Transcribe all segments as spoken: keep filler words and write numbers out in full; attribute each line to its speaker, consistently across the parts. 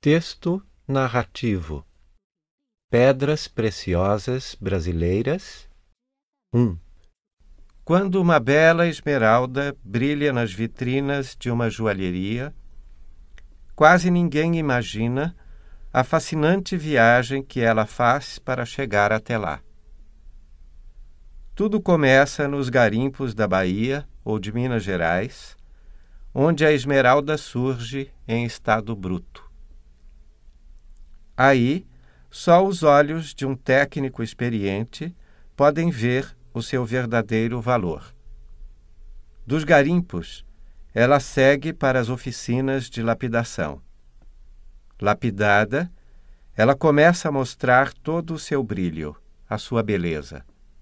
Speaker 1: Texto narrativo. Pedras preciosas brasileiras. um. Quando uma bela esmeralda brilha nas vitrinas de uma joalheria, quase ninguém imagina a fascinante viagem que ela faz para chegar até lá. Tudo começa nos garimpos da Bahia ou de Minas Gerais, onde a esmeralda surge em estado bruto. Aí, só os olhos de um técnico experiente podem ver o seu verdadeiro valor. Dos garimpos, ela segue para as oficinas de lapidação. Lapidada, ela começa a mostrar todo o seu brilho, a sua beleza.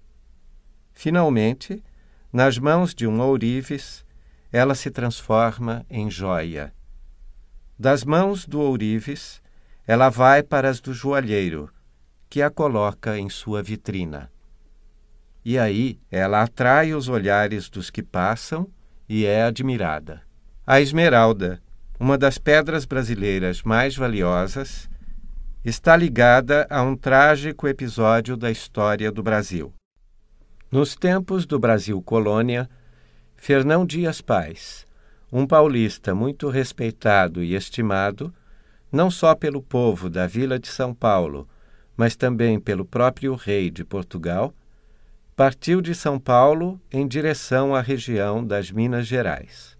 Speaker 1: Finalmente, nas mãos de um ourives, ela se transforma em joia. Das mãos do ourives, ela vai para as do joalheiro, que a coloca em sua vitrina. E aí ela atrai os olhares dos que passam e é admirada. A esmeralda, uma das pedras brasileiras mais valiosas, está ligada a um trágico episódio da história do Brasil. Nos tempos do Brasil colônia, Fernão Dias Pais, um paulista muito respeitado e estimado, não só pelo povo da Vila de São Paulo, mas também pelo próprio rei de Portugal, partiu de São Paulo em direção à região das Minas Gerais.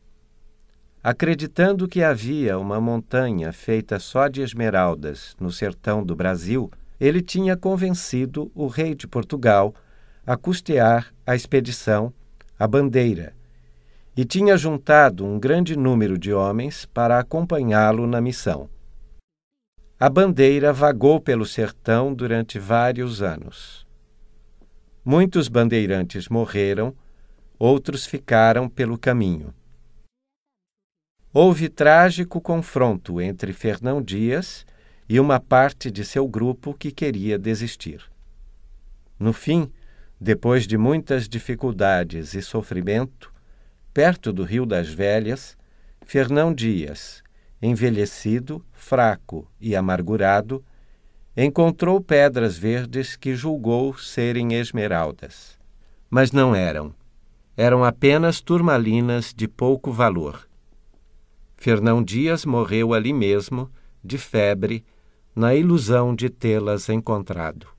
Speaker 1: Acreditando que havia uma montanha feita só de esmeraldas no sertão do Brasil, ele tinha convencido o rei de Portugal a custear a expedição, a Bandeira, e tinha juntado um grande número de homens para acompanhá-lo na missão. A Bandeira vagou pelo sertão durante vários anos. Muitos bandeirantes morreram, outros ficaram pelo caminho. Houve trágico confronto entre Fernão Dias e uma parte de seu grupo que queria desistir. No fim, depois de muitas dificuldades e sofrimento, perto do Rio das Velhas, Fernão Dias, envelhecido, fraco e amargurado, encontrou pedras verdes que julgou serem esmeraldas. Mas não eram. Eram apenas turmalinas de pouco valor. Fernão Dias morreu ali mesmo, de febre, na ilusão de tê-las encontrado.